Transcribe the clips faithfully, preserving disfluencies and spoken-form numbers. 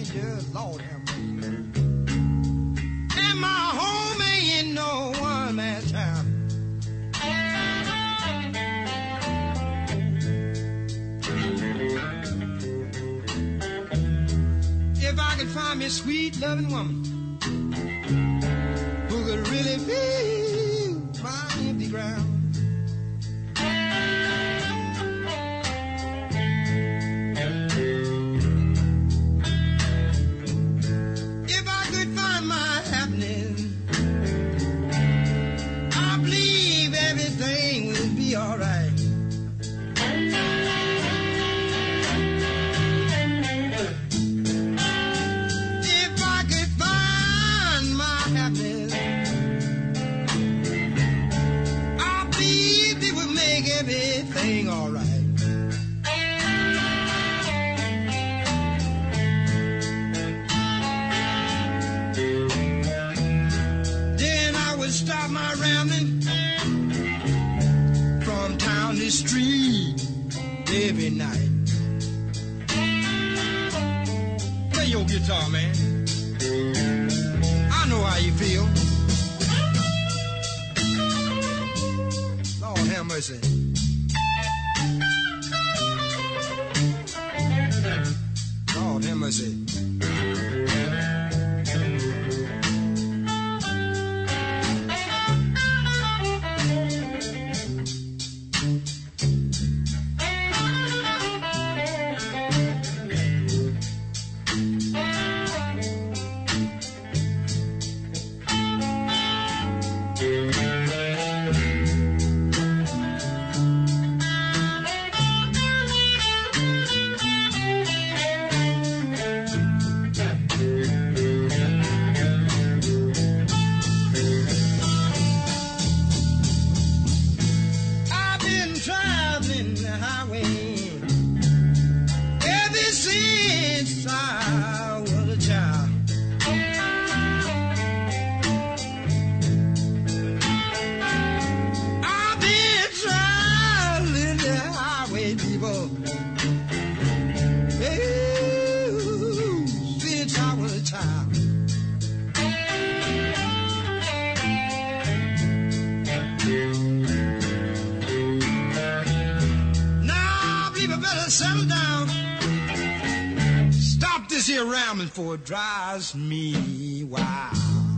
just Lord have mercy. And my home ain't in no one man town. If I could find me a sweet loving woman who could really feel my empty ground. If I could find my happiness, I believe everything will be alright. Everything all right. Then I would stop my rambling from town to street every night. Play your guitar, man. I know how you feel. Lord have mercy. Lord have mercy. Settle down. Stop this here rambling for it drives me wild.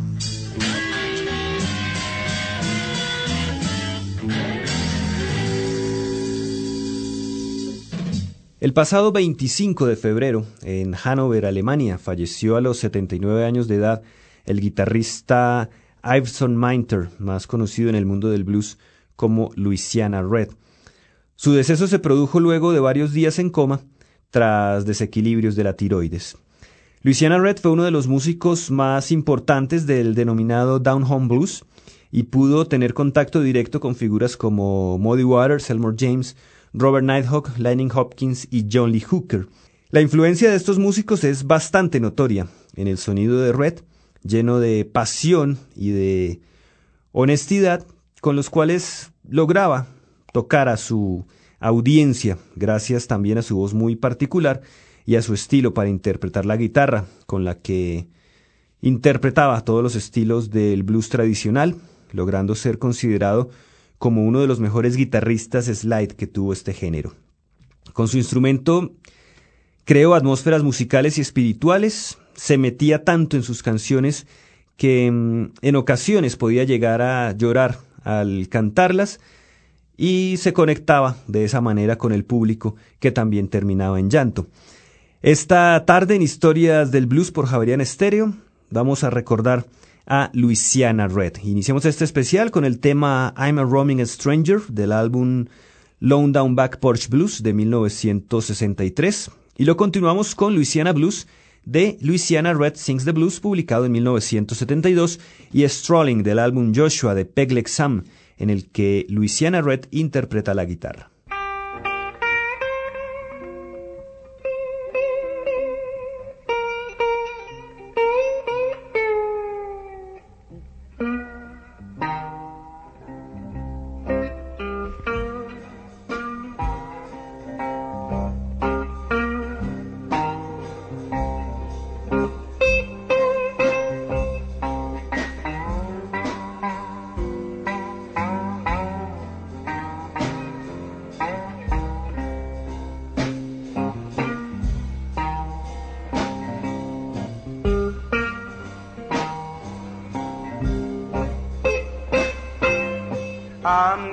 El pasado veinticinco de febrero, en Hannover, Alemania, falleció a los setenta y nueve años de edad el guitarrista Iveson Minter, más conocido en el mundo del blues como Louisiana Red. Su deceso se produjo luego de varios días en coma tras desequilibrios de la tiroides. Louisiana Red fue uno de los músicos más importantes del denominado Down Home Blues y pudo tener contacto directo con figuras como Muddy Waters, Elmore James, Robert Nighthawk, Lightning Hopkins y John Lee Hooker. La influencia de estos músicos es bastante notoria en el sonido de Red, lleno de pasión y de honestidad, con los cuales lograba tocar a su audiencia, gracias también a su voz muy particular y a su estilo para interpretar la guitarra, con la que interpretaba todos los estilos del blues tradicional, logrando ser considerado como uno de los mejores guitarristas slide que tuvo este género. Con su instrumento creó atmósferas musicales y espirituales, se metía tanto en sus canciones que en ocasiones podía llegar a llorar al cantarlas, y se conectaba de esa manera con el público, que también terminaba en llanto. Esta tarde en Historias del Blues por Javeriana Estéreo vamos a recordar a Louisiana Red. Iniciamos este especial con el tema I'm a Roaming Stranger del álbum Lone Down Back Porch Blues de mil novecientos sesenta y tres y lo continuamos con Louisiana Blues de Louisiana Red Sings the Blues, publicado en mil novecientos setenta y dos, y Strolling del álbum Joshua de Peg Leg Sam, en el que Louisiana Red interpreta la guitarra.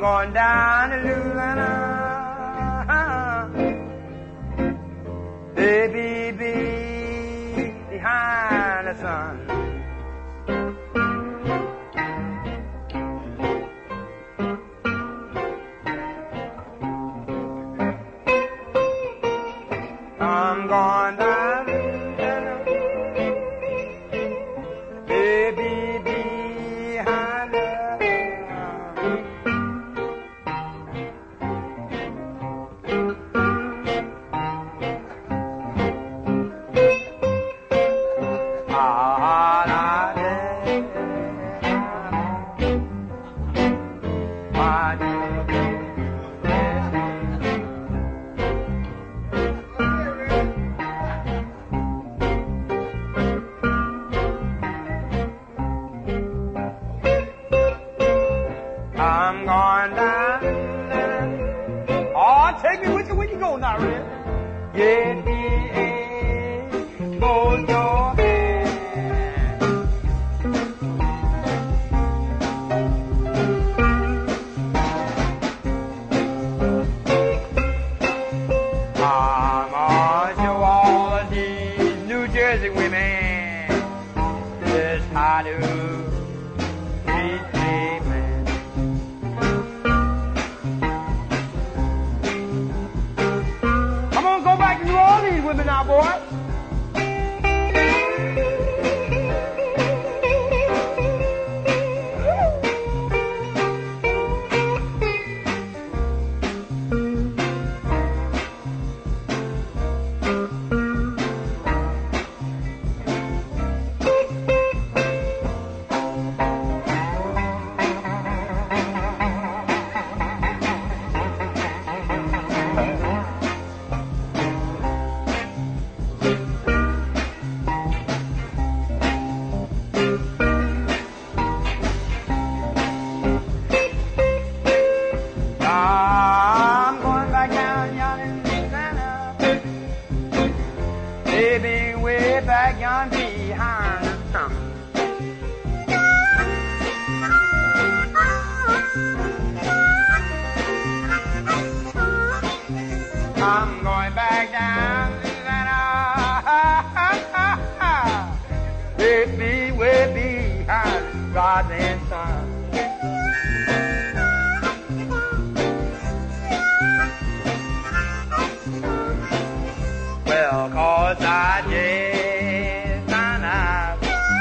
going down to Louisiana. Baby, be behind the sun. I'm going down to Louisiana. Baby, behind the I'm going down. Oh, take me with you when you go now, Red. Get me a hold your hand. I'm gonna show all of these New Jersey women just how to treat a man. Go back to New Orleans with me now, boy. I'm going back down yonder in Louisiana. Baby, way back yonder behind the sun. I'm going back down Louisiana. Baby, way behind God and sun. Well, cause I just found out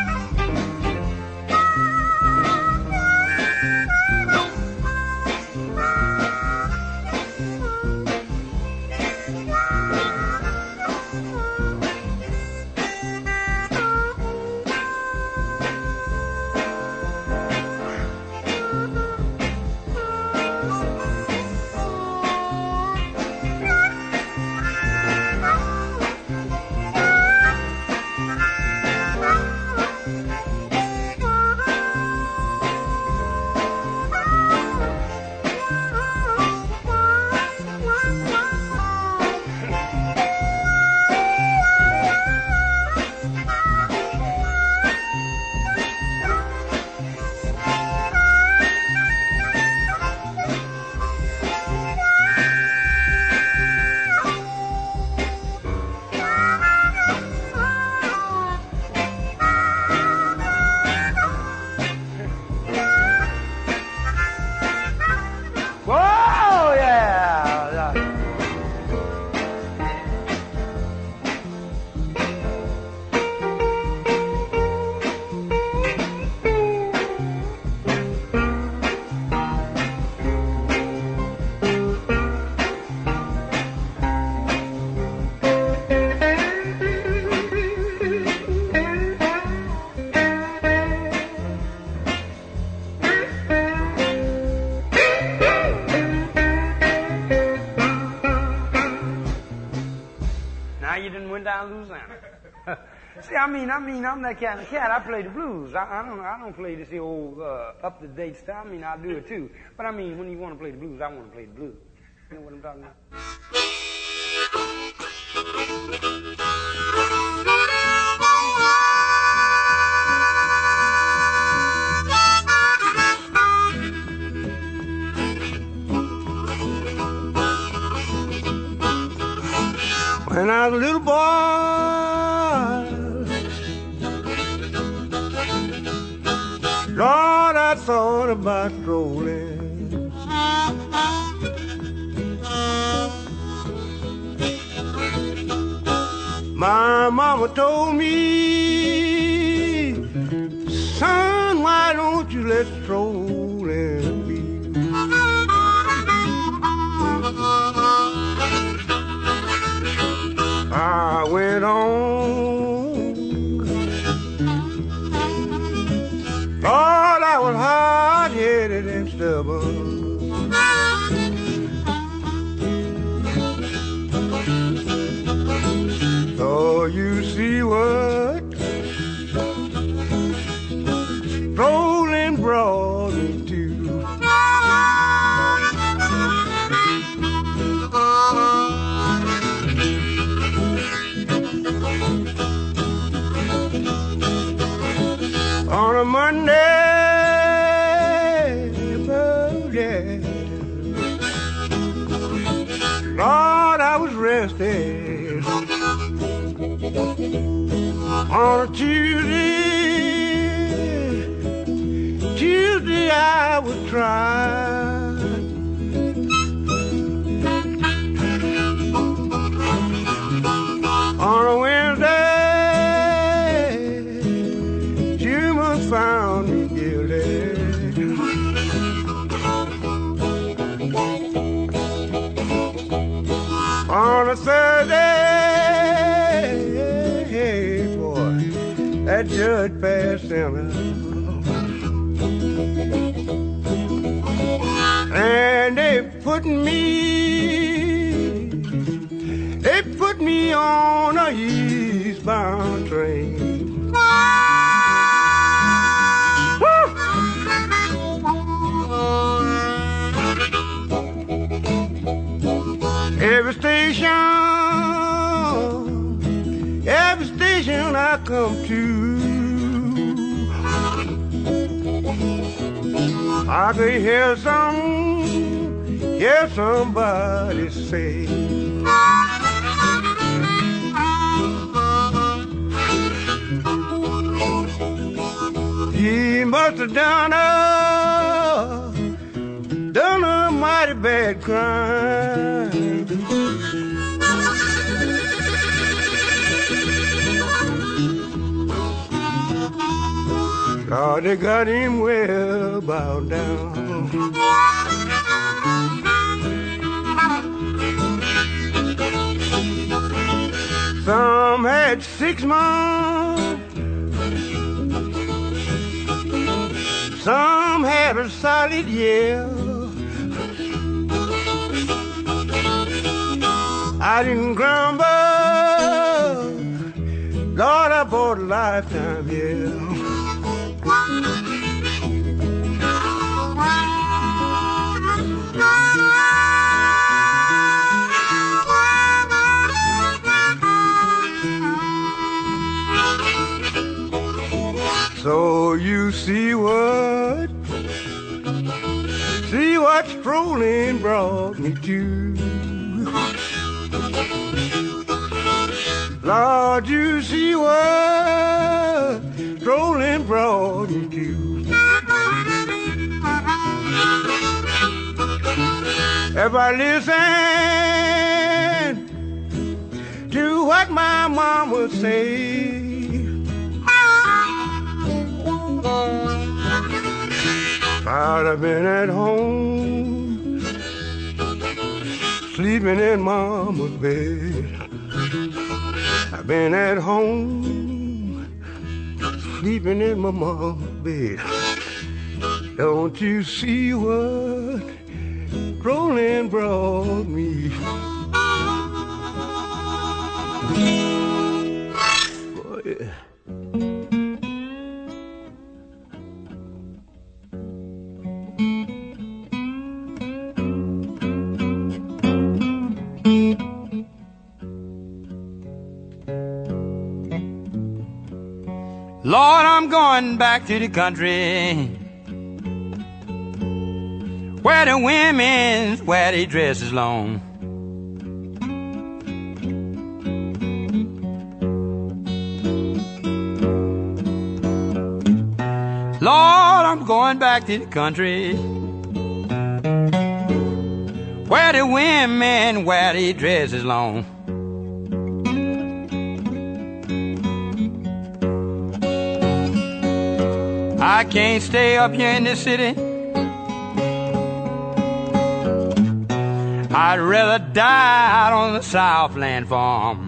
down Louisiana. See, I mean, I mean, I'm that kind of cat. I play the blues. I, I don't, I don't play this old uh, up-to-date stuff. I mean, I do it too. But I mean, when you want to play the blues, I want to play the blues. You know what I'm talking about? When I was a little boy, Lord, I thought about strolling. My mama told me, son, why don't you let strolling be? I went on, thought I was hard-headed and stubborn. So you see what strolling brought me to. On a Monday, Monday, Lord, I was resting. On a Tuesday, Tuesday I was trying. On a Wednesday, found me guilty. On a Thursday, boy, that judge passed sentence, and they put me, they put me on a eastbound train. Every station, every station I come to, I could hear some, hear somebody say, he must have done a, done a mighty bad crime. Lord, they got him well bowed down. Some had six months, some had a solid year. I didn't grumble, Lord, I bought a lifetime here. So you see what, see what strolling brought me to. Lord, you see what strolling brought me to. If I listen to what my mom would say, I'd have been at home, sleeping in mama's bed. I've been at home, sleeping in my mama's bed. Don't you see what strolling brought me? Oh, yeah. Lord, I'm going back to the country where the women wear their dresses long. going back to the country where the women wear their dresses long. I can't stay up here in the city. I'd rather die out on the Southland farm.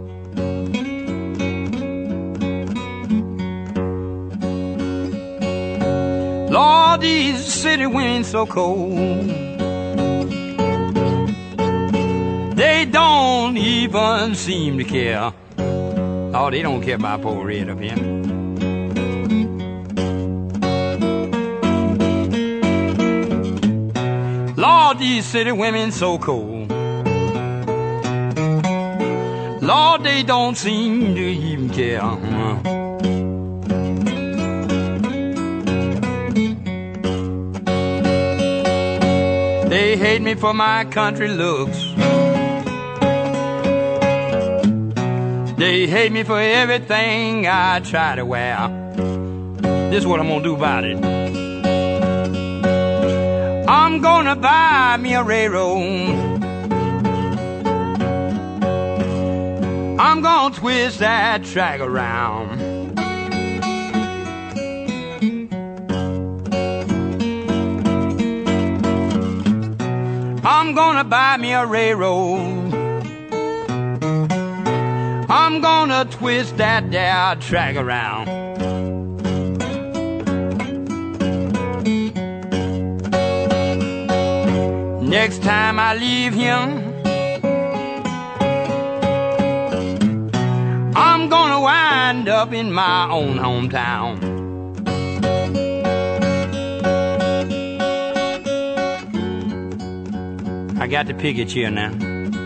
Lord, these city women so cold. They don't even seem to care. Oh, they don't care about poor red up here. Lord, these city women so cold. Lord, they don't seem to even care. They hate me for my country looks. They hate me for everything I try to wear. This is what I'm gonna do about it. I'm gonna buy me a railroad. I'm gonna twist that track around. I'm gonna buy me a railroad. I'm gonna twist that there track around. Next time I leave him, I'm gonna wind up in my own hometown. I got to pick it here now.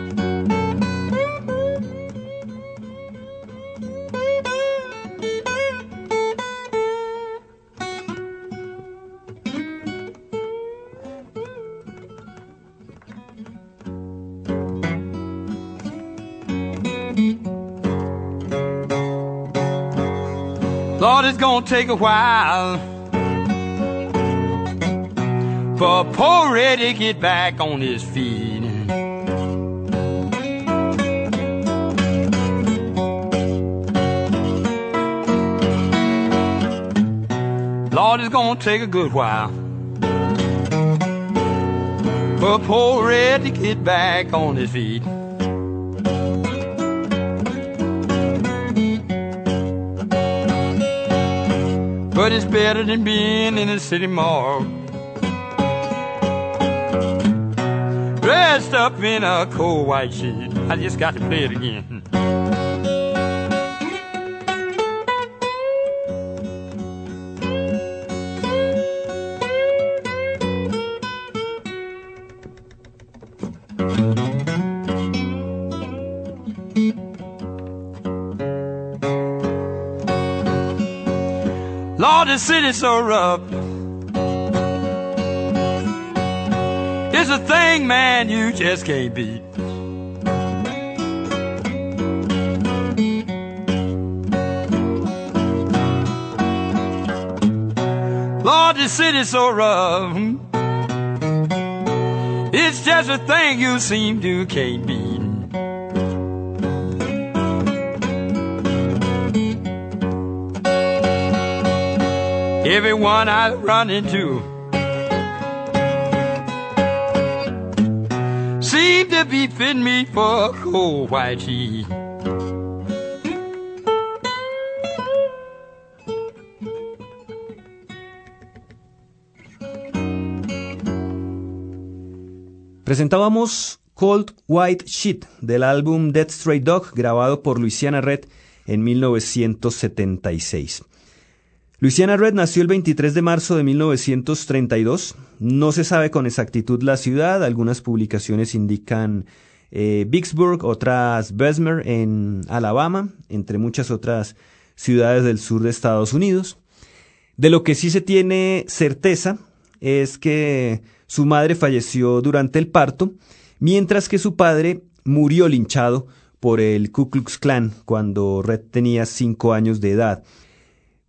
Lord, it's gonna take a while for poor Reddy to get back on his feet. Lord, it's gonna take a good while for poor Reddy to get back on his feet. But it's better than being in a city morgue, dressed up in a cold white sheet. I just got to play it again. Lord, the city's so rough. It's a thing, man, you just can't beat. Lord, the city's so rough. It's just a thing you seem to can't beat. Everyone I run into seem to be fitting me for a cold white sheet. Presentábamos Cold White Sheet del álbum Dead Stray Dog, grabado por Louisiana Red en mil novecientos setenta y seis. Louisiana Red nació el veintitrés de marzo de mil novecientos treinta y dos. No se sabe con exactitud la ciudad. Algunas publicaciones indican eh, Vicksburg, otras Bessemer en Alabama, entre muchas otras ciudades del sur de Estados Unidos. De lo que sí se tiene certeza es que su madre falleció durante el parto, mientras que su padre murió linchado por el Ku Klux Klan cuando Red tenía cinco años de edad.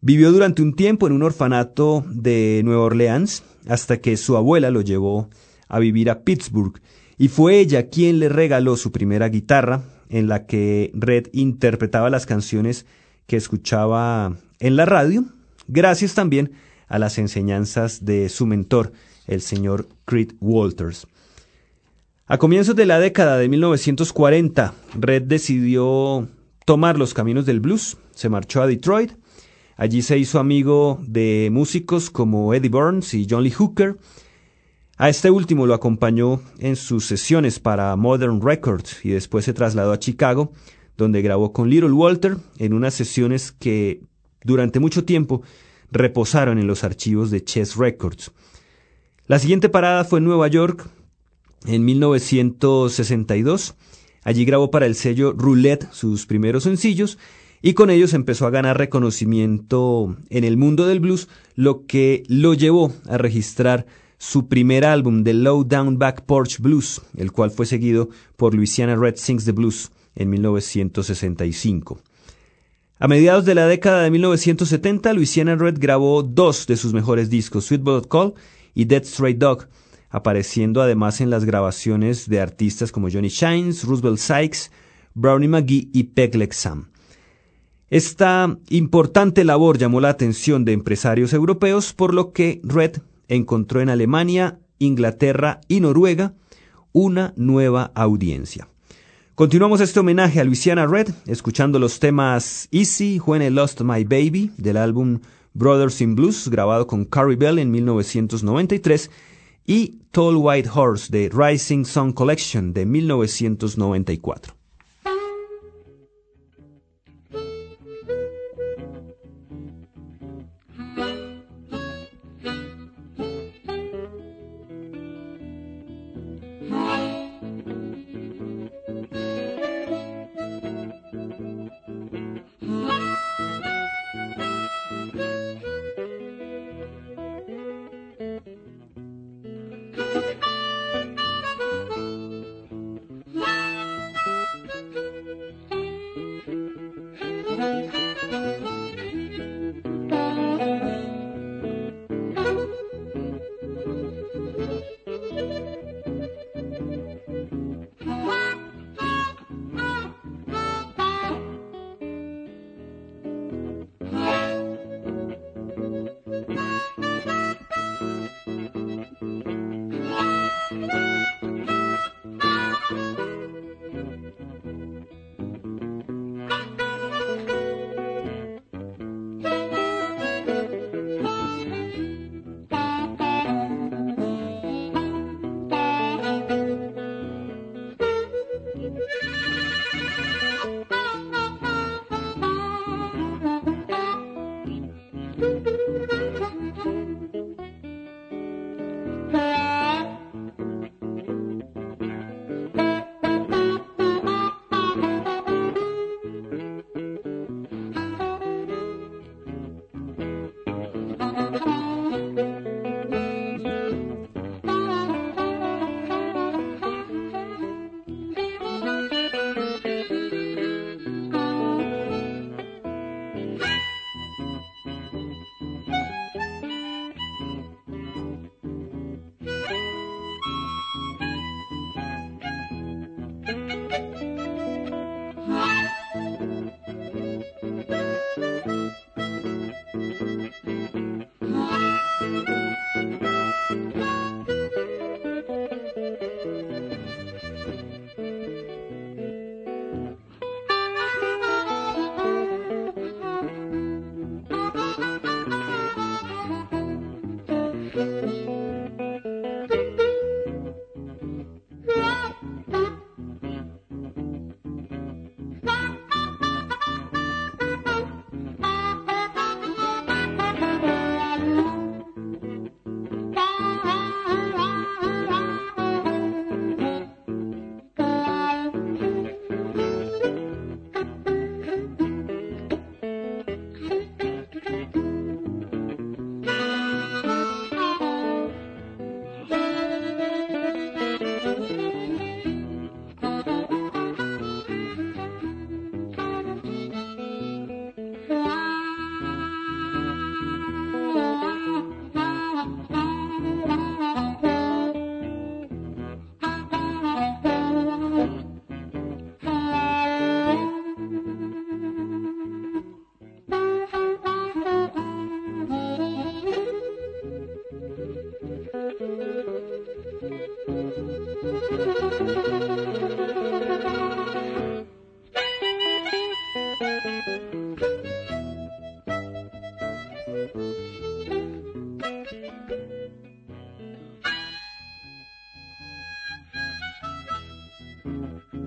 Vivió durante un tiempo en un orfanato de Nueva Orleans hasta que su abuela lo llevó a vivir a Pittsburgh y fue ella quien le regaló su primera guitarra en la que Red interpretaba las canciones que escuchaba en la radio, gracias también a las enseñanzas de su mentor, el señor Creed Walters. A comienzos de la década de mil novecientos cuarenta, Red decidió tomar los caminos del blues, se marchó a Detroit. Allí se hizo amigo de músicos como Eddie Burns y John Lee Hooker. A este último lo acompañó en sus sesiones para Modern Records y después se trasladó a Chicago, donde grabó con Little Walter en unas sesiones que durante mucho tiempo reposaron en los archivos de Chess Records. La siguiente parada fue en Nueva York en mil novecientos sesenta y dos. Allí grabó para el sello Roulette sus primeros sencillos y con ellos empezó a ganar reconocimiento en el mundo del blues, lo que lo llevó a registrar su primer álbum, The Low Down Back Porch Blues, el cual fue seguido por Louisiana Red Sings the Blues en mil novecientos sesenta y cinco. A mediados de la década de mil novecientos setenta, Louisiana Red grabó dos de sus mejores discos, Sweet But Call y Dead Stray Dog, apareciendo además en las grabaciones de artistas como Johnny Shines, Roosevelt Sykes, Brownie McGhee y Peg Leg Sam. Esta importante labor llamó la atención de empresarios europeos, por lo que Red encontró en Alemania, Inglaterra y Noruega una nueva audiencia. Continuamos este homenaje a Louisiana Red escuchando los temas Easy, When I Lost My Baby del álbum Brothers in Blues, grabado con Carrie Bell en mil novecientos noventa y tres, y Tall White Horse de Rising Sun Collection de mil novecientos noventa y cuatro.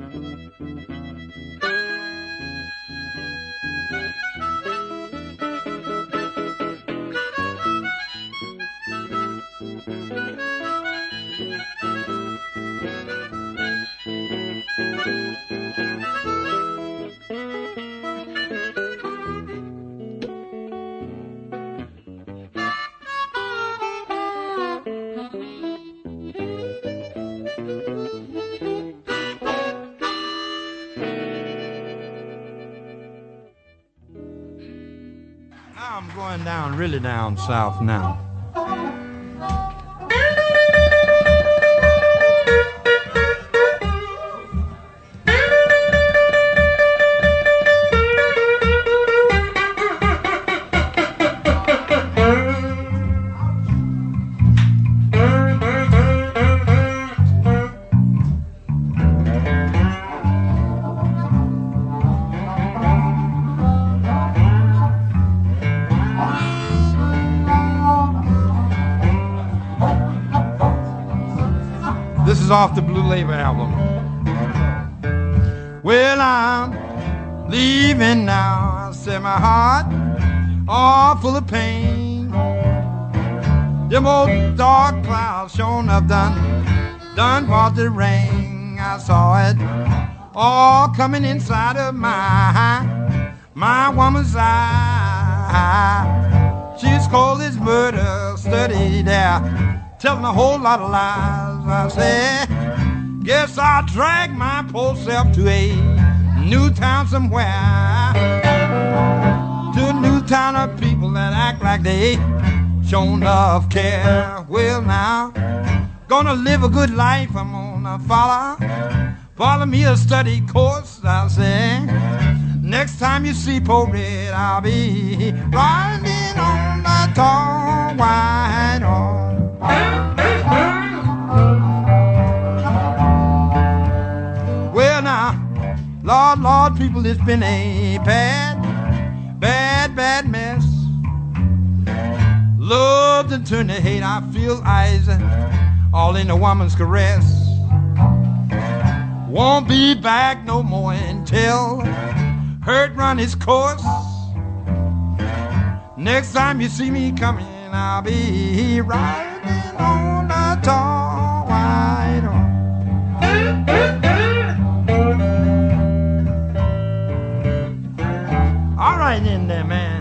I'm going down, really down south now. This is off the Blue Label album. Well, I'm leaving now. I said my heart all full of pain. Them old dark clouds showing up done, done brought the rain. I saw it all coming inside of my, my woman's eye. She's cold as murder, study there, telling a whole lot of lies. I said, guess I'll drag my poor self to a new town somewhere, to a new town of people that act like they show enough care. Well now, gonna live a good life. I'm gonna follow, follow me a study course. I say, next time you see Poe Red, I'll be riding on the tall white horse. Well now, Lord, Lord, people, it's been a bad, bad, bad mess. Love to turn to hate, I feel eyes all in a woman's caress. Won't be back no more until hurt run its course. Next time you see me coming, I'll be riding on a tall white horse. All right in there, man.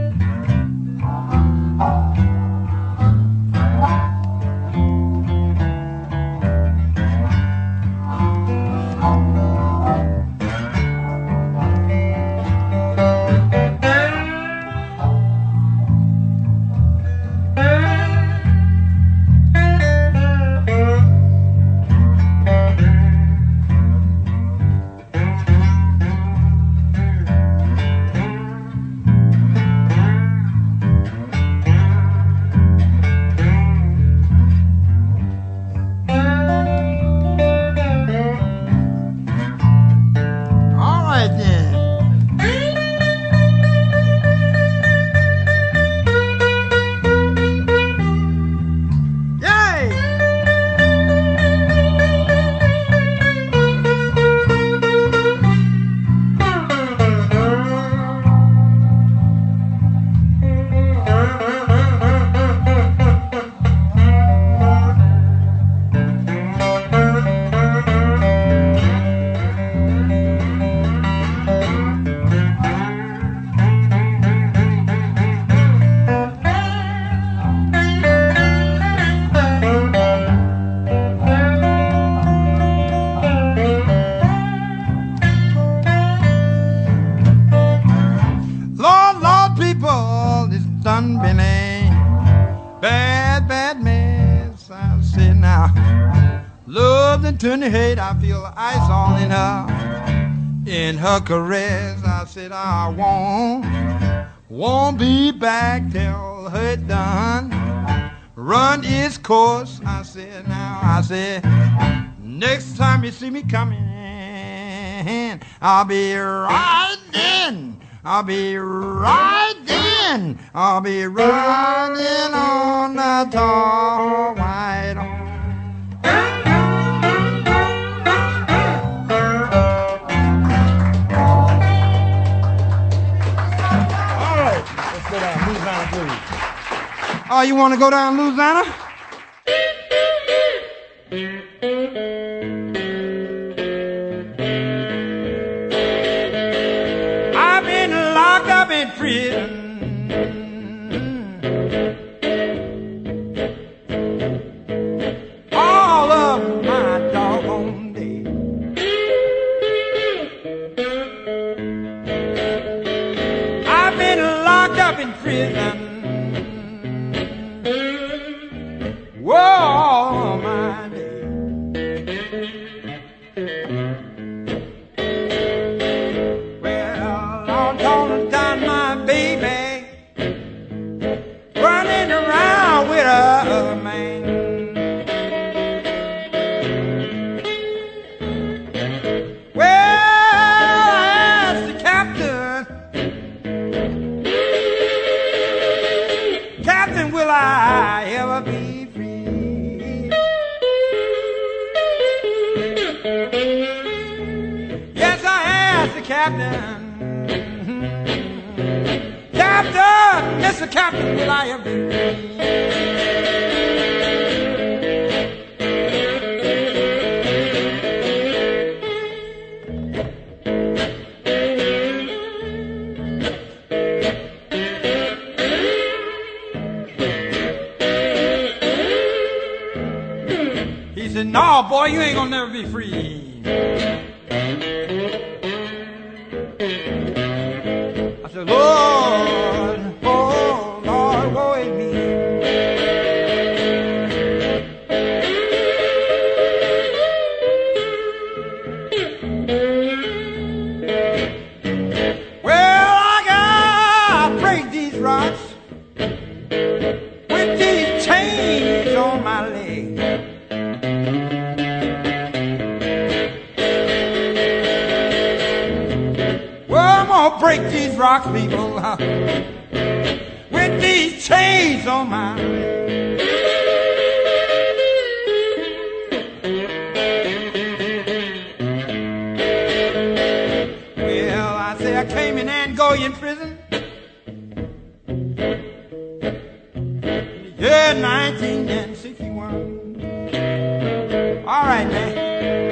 Turn the hate, I feel ice all in her, in her caress. I said I won't, won't be back till her done run its course. I said now, I said, next time you see me coming, I'll be riding, I'll be riding, I'll be riding on the tall white horse. Oh, you want to go down to Louisiana? I've been locked up in prison all of my doggone day. I've been locked up in prison. Whoa, my day. Well, I'm gonna down my baby, running around with a man. Well, I asked the captain, Captain, will I ever be free? Yes, I asked the captain. Captain, Mister Captain, will I ever be free? He said, no, boy, you ain't gonna never be free. I said, Lord, oh, Lord, woe is me. Well, I gotta break these rocks with these chains on my leg. Well, I'm gonna break these rocks, people, uh, with these chains on my leg. Well, I say I came in Angolan prison. Yeah, nineteen sixty-one. All right, man.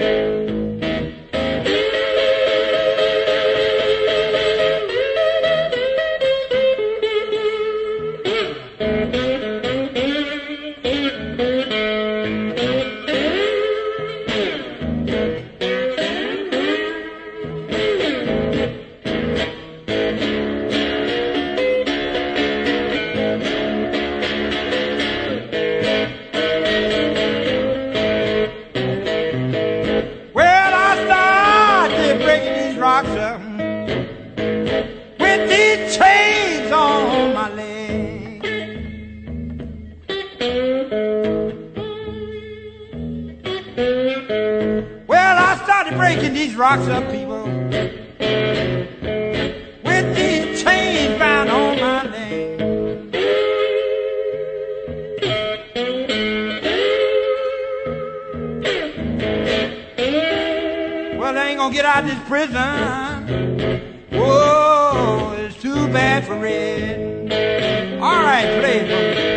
Well, I started breaking these rocks up with these chains on my leg. Well, I started breaking these rocks up, people, with these chains bound on my leg. Well, I ain't gonna get out of this prison. Whoa, it's too bad for Red. All right, play it for me.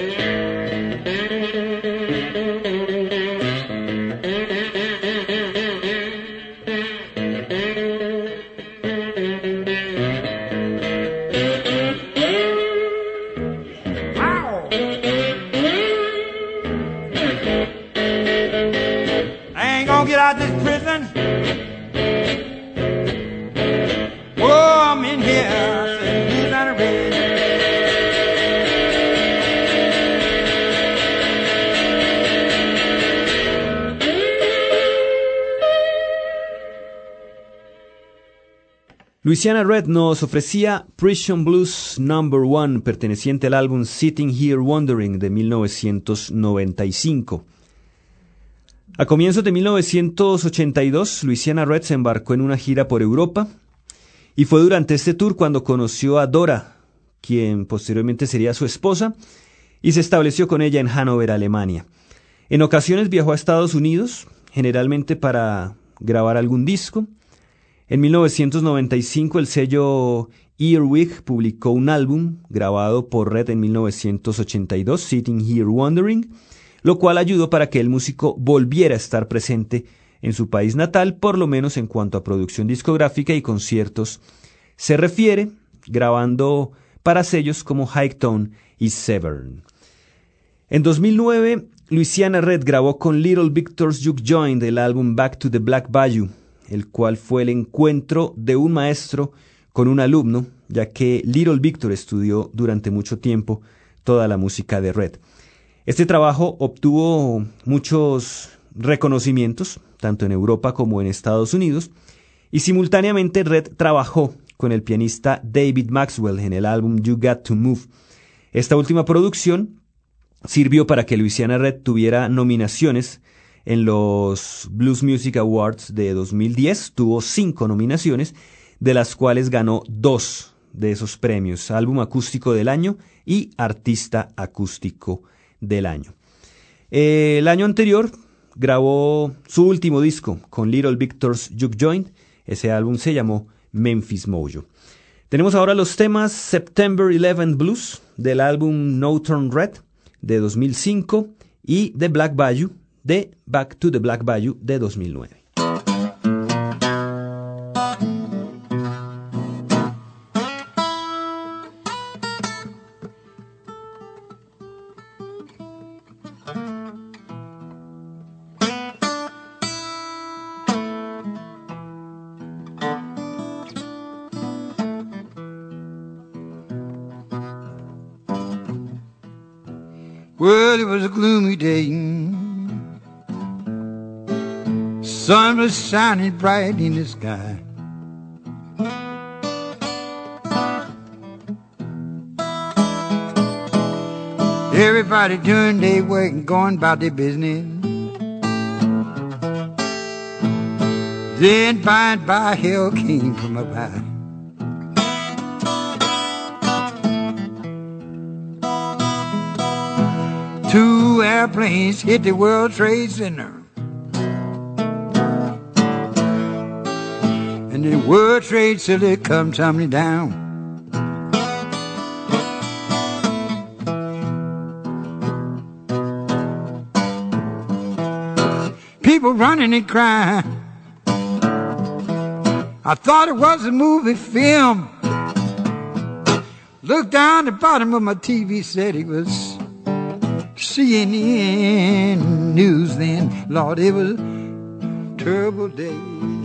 Ow! I ain't gonna get out of this prison. Whoa, I'm in here, I said, Louisiana Red. Louisiana Red nos ofrecía Prison Blues Number One, perteneciente al álbum Sitting Here Wondering de mil novecientos noventa y cinco. A comienzos de mil novecientos ochenta y dos, Louisiana Red se embarcó en una gira por Europa y fue durante este tour cuando conoció a Dora, quien posteriormente sería su esposa, y se estableció con ella en Hannover, Alemania. En ocasiones viajó a Estados Unidos, generalmente para grabar algún disco. En mil novecientos noventa y cinco el sello Earwig publicó un álbum grabado por Red en mil novecientos ochenta y dos, Sitting Here Wondering, lo cual ayudó para que el músico volviera a estar presente en su país natal, por lo menos en cuanto a producción discográfica y conciertos se refiere, grabando para sellos como Hightone y Severn. En dos mil nueve, Louisiana Red grabó con Little Victor's Juke Joint el álbum Back to the Black Bayou, el cual fue el encuentro de un maestro con un alumno, ya que Little Victor estudió durante mucho tiempo toda la música de Red. Este trabajo obtuvo muchos reconocimientos, tanto en Europa como en Estados Unidos, y simultáneamente Red trabajó con el pianista David Maxwell en el álbum You Got to Move. Esta última producción sirvió para que Louisiana Red tuviera nominaciones en los Blues Music Awards de dos mil diez. Tuvo cinco nominaciones, de las cuales ganó dos de esos premios: Álbum Acústico del Año y Artista Acústico del Año. Eh, el año anterior grabó su último disco con Little Victor's Juke Joint. Ese álbum se llamó Memphis Mojo. Tenemos ahora los temas September eleventh Blues del álbum No Turn Red de dos mil cinco y The Black Bayou de Back to the Black Bayou de dos mil nueve. Well, it was a gloomy day. Sun was shining bright in the sky. Everybody doing their work and going about their business. Then by and by hell came from up high. Two airplanes hit the World Trade Center, and the World Trade Center come tumbling down. People running and crying. I thought it was a movie film. Looked down the bottom of my T V, said it was C N N News then. Lord, it was a terrible day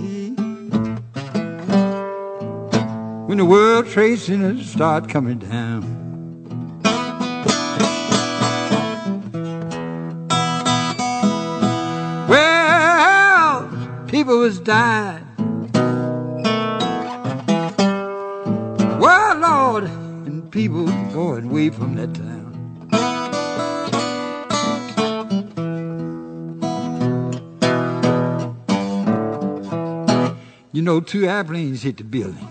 when the World Trade Center started coming down. Well, people was dying. Well, Lord, and people going away from that town. You know, two airplanes hit the building.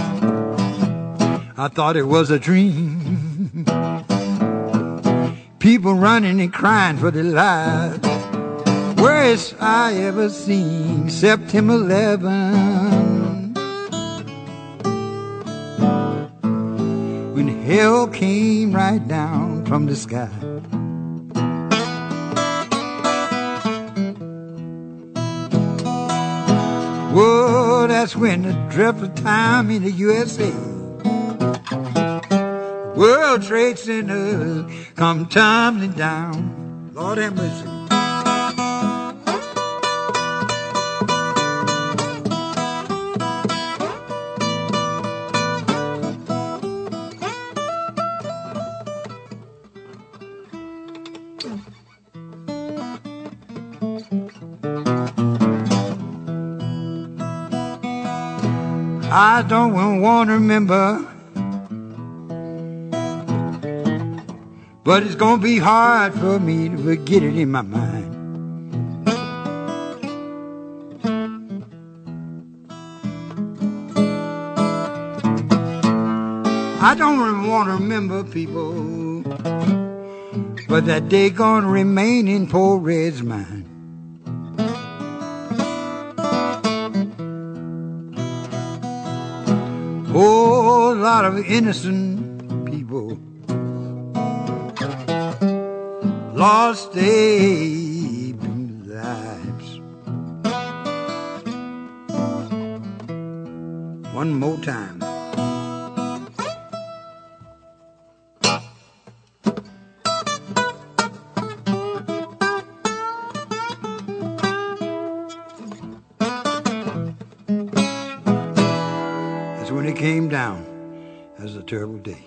I thought it was a dream. People running and crying for their lives. Worst I ever seen. September eleventh, when hell came right down from the sky. Whoa, that's when the dreadful time in the U S A. World Trade Center come tumbling down. Lord have mercy. I don't want to remember, but it's gonna be hard for me to forget it in my mind. I don't want to remember, people, but that day gonna remain in poor Red's mind. whole lot of innocent people lost their lives. One more time. That's when it came down. That was a terrible day.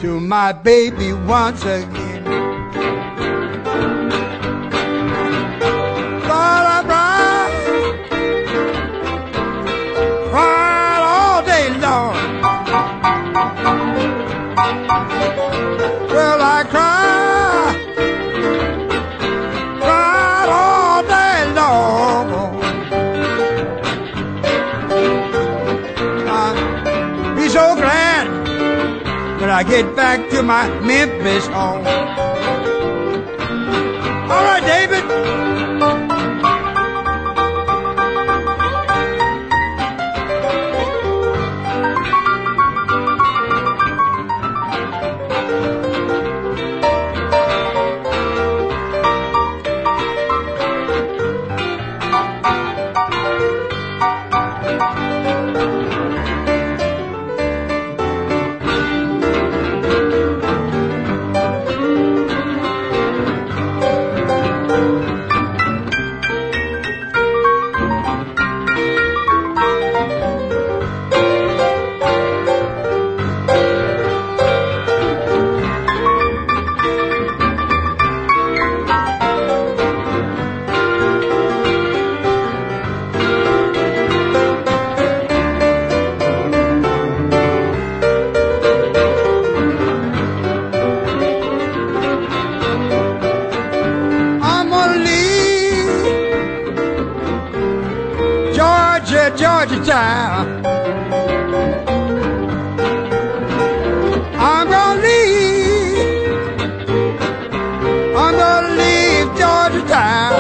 to my baby once again. Lord, I cried, cried all day long. Well, I cried, cried all day long. I'll be so glad when I get back to my Memphis home. All right, David. Georgia town. I'm gonna leave, I'm gonna leave Georgia town.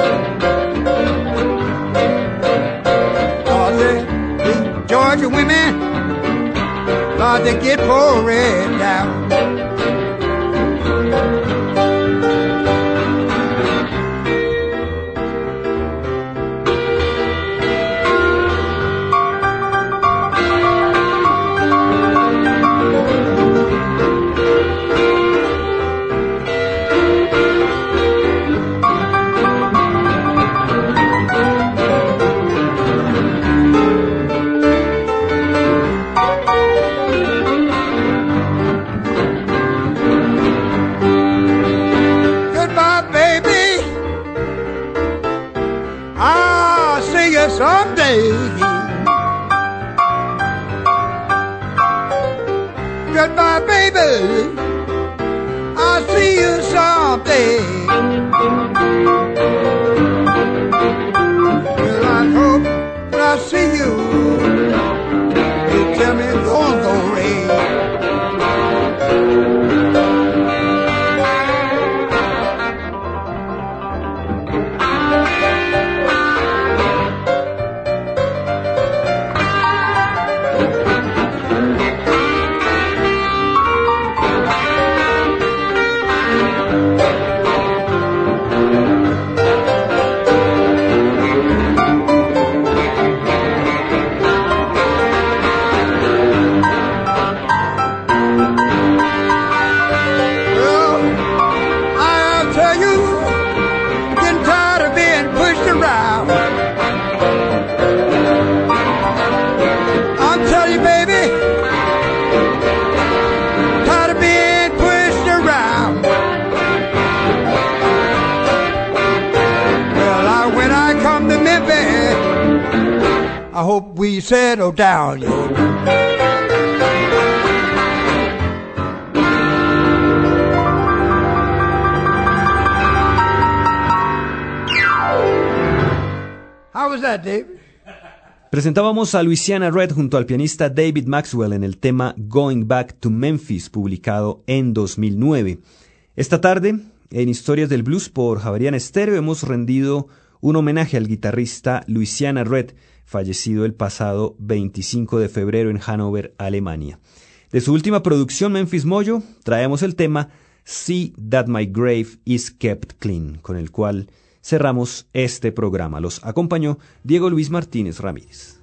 Cause the, the Georgia women, Lord, they get pouring down. Someday, goodbye, baby. I'll see you someday. Well, I hope when I see you, you tell me it's gonna go rain. I hope we settle down, yo. How was that, David? Presentábamos a Louisiana Red junto al pianista David Maxwell en el tema Going Back to Memphis, publicado en dos mil nueve. Esta tarde, en Historias del Blues por Javeriana Estéreo, hemos rendido un homenaje al guitarrista Louisiana Red, fallecido el pasado veinticinco de febrero en Hannover, Alemania. De su última producción, Memphis Mojo, traemos el tema See That My Grave Is Kept Clean, con el cual cerramos este programa. Los acompañó Diego Luis Martínez Ramírez.